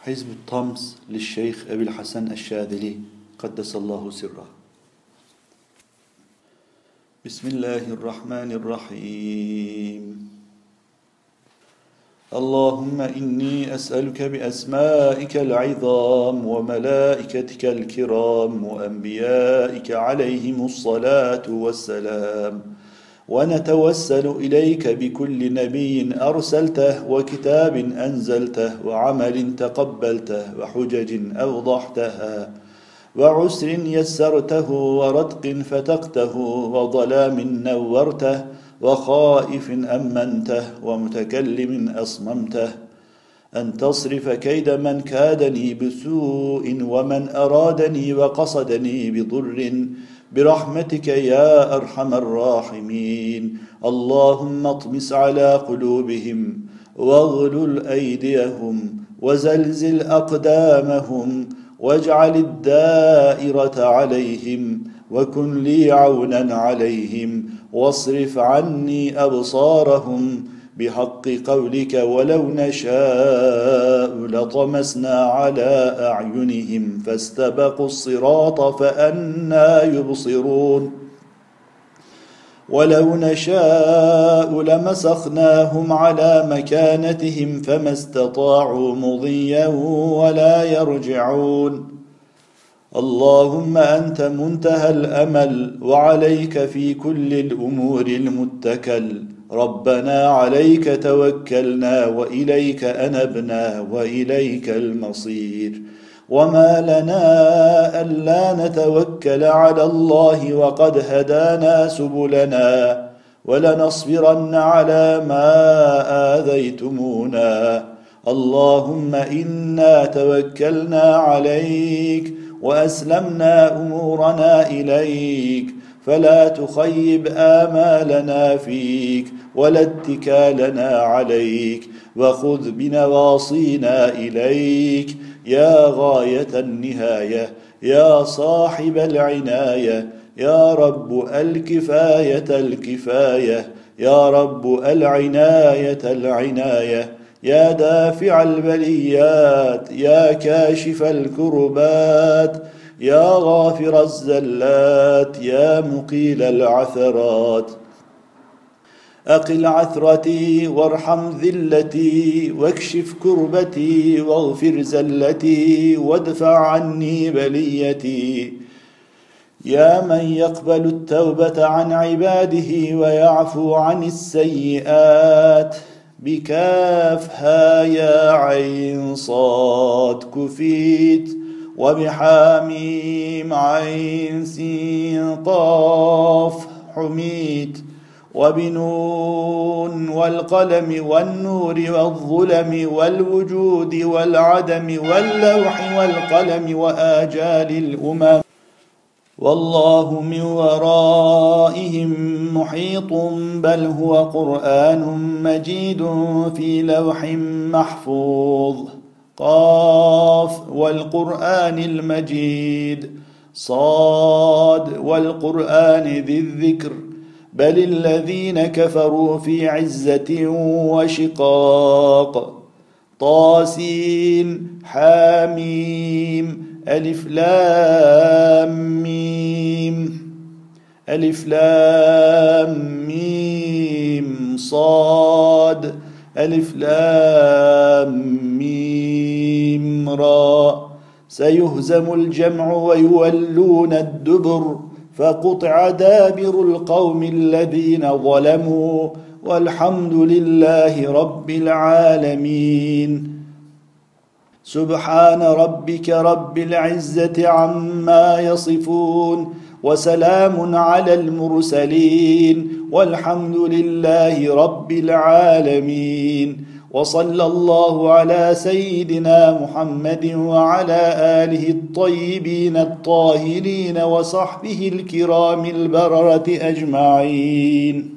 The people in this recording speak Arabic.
حزب الطمس للشيخ أبي الحسن الشاذلي قدس الله سره. بسم الله الرحمن الرحيم. اللهم إني أسألك بأسمائك العظام وملائكتك الكرام وأنبيائك عليهم الصلاة والسلام، ونتوسل إليك بكل نبي أرسلته وكتاب أنزلته وعمل تقبلته وحجج أوضحتها وعسر يسرته ورتق فتقته وظلام نورته وخائف أمنته ومتكلم أصممته، أن تصرف كيد من كادني بسوء ومن أرادني وقصدني بضر برحمتك يا أرحم الراحمين. اللهم اطمس على قلوبهم واغلل أيديهم وزلزل أقدامهم واجعل الدائرة عليهم وكن لي عونا عليهم واصرف عني أبصارهم بحق قولك ولو نشاء لطمسنا على أعينهم فاستبقوا الصراط فأنى يبصرون، ولو نشاء لمسخناهم على مكانتهم فما استطاعوا مضيا ولا يرجعون. اللهم أنت منتهى الأمل وعليك في كل الأمور المتكل، ربنا عليك توكلنا وإليك أنبنا وإليك المصير. وما لنا ألا نتوكل على الله وقد هدانا سبلنا، ولنصبرن على ما آذيتمونا. اللهم إنا توكلنا عليك وأسلمنا أمورنا إليك، فلا تخيب آمالنا فيك ولا اتكالنا عليك، وخذ بنواصينا إليك يا غاية النهاية، يا صاحب العناية، يا رب الكفاية الكفاية، يا رب العناية العناية، يا دافع البليات، يا كاشف الكربات، يا غافر الزلات، يا مقيل العثرات. أقل عثرتي وارحم ذلتي واكشف كربتي واغفر زلتي وادفع عني بليتي. يا من يقبل التوبة عن عباده ويعفو عن السيئات، بكافها يا عين صاد كفيت، وبحاميم عين سين قاف حميت، وبنون والقلم والنور والظلم والوجود والعدم واللوح والقلم وآجال الأمم، والله من ورائهم محيط، بل هو قرآن مجيد في لوح محفوظ. قاف والقرآن المجيد، صاد والقرآن ذي الذكر، بل الذين كفروا في عزة وشقاق. طاسين حاميم ألف لام ميم، ألف لام ميم صاد، ألف لام ميم را. سيهزم الجمع ويولون الدبر، فقطع دابر القوم الذين ظلموا، والحمد لله رب العالمين. سبحان ربك رب العزة عما يصفون، وسلام على المرسلين، والحمد لله رب العالمين. وصلى الله على سيدنا محمد وعلى آله الطيبين الطاهرين وصحبه الكرام البررة أجمعين.